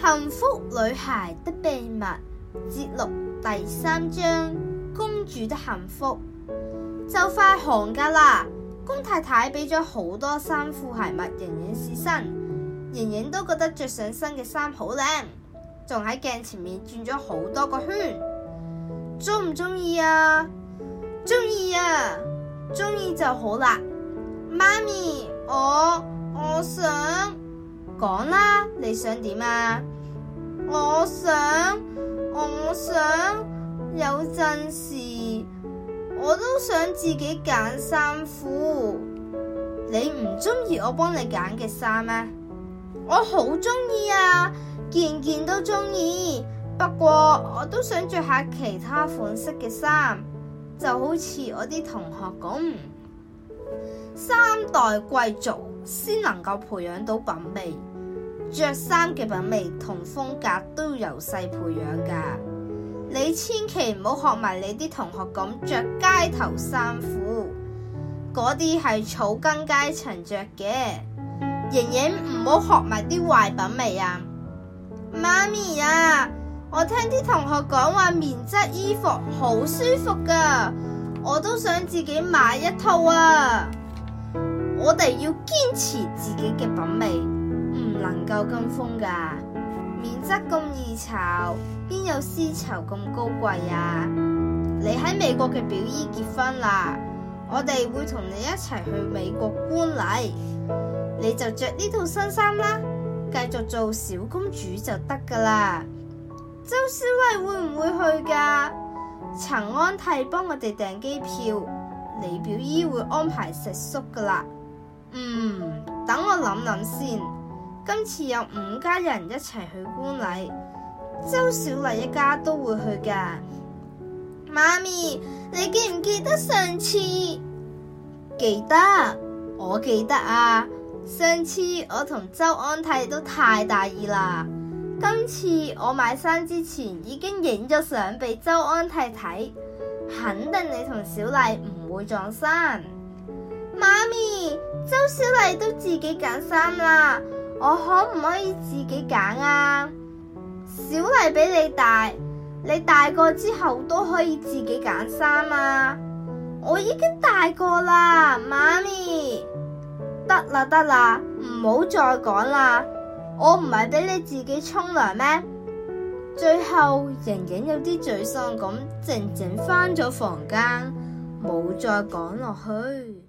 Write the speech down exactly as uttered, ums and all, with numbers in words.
幸福女孩的秘密節錄第三章，公主的幸福。就快寒假啦，公太太俾咗好多衫褲鞋襪瑩瑩試身，瑩瑩都覺得着上身嘅衫好靚，仲喺鏡前面轉咗好多個圈。中唔中意啊？中意啊！中意就好啦。媽咪，我我想講啦，你想點啊？我想我想有陣時我都想自己揀衫褲。你唔中意我幫你揀嘅衫咩？我好中意啊，件件都中意。不過我都想着下其他款式嘅衫，就好似我啲同學咁。三代貴族先能夠培養到品味，着衫嘅品味同風格都由細培養噶。你千祈唔好學埋你啲同學咁着街頭衫褲，嗰啲係草根階層着嘅。瑩瑩唔好學埋啲壞品味啊！媽咪啊，我聽啲同學講話棉質衣服好舒服噶，我都想自己買一套啊！我哋要堅持自己嘅品味，唔能夠跟風噶。棉質咁易潮，邊有絲綢咁高貴啊？你喺美國嘅表姨結婚啦，我哋會同你一齊去美國觀禮，你就着呢套新衫啦，繼續做小公主就得噶啦。周小麗會唔會去噶？陳安娣幫我哋訂機票，你表姨會安排食宿噶啦。嗯，等我諗諗先。今次有五家人一齊去觀禮，周小麗一家都會去噶。媽咪，你記唔記得上次？記得，我記得啊。上次我同周安娣都太大意啦。今次我買衫之前已經影咗相俾周安娣睇，肯定你同小麗唔會撞衫。媽咪，周小麗都自己揀衫啦，我可唔可以自己揀啊？小麗比你大，你大個之後都可以自己揀衫啊。我已經大個啦，媽咪。得啦得啦，唔好再講啦。我唔係俾你自己沖涼咩？最後瑩瑩有啲沮喪咁，靜靜返咗房間，冇再講落去。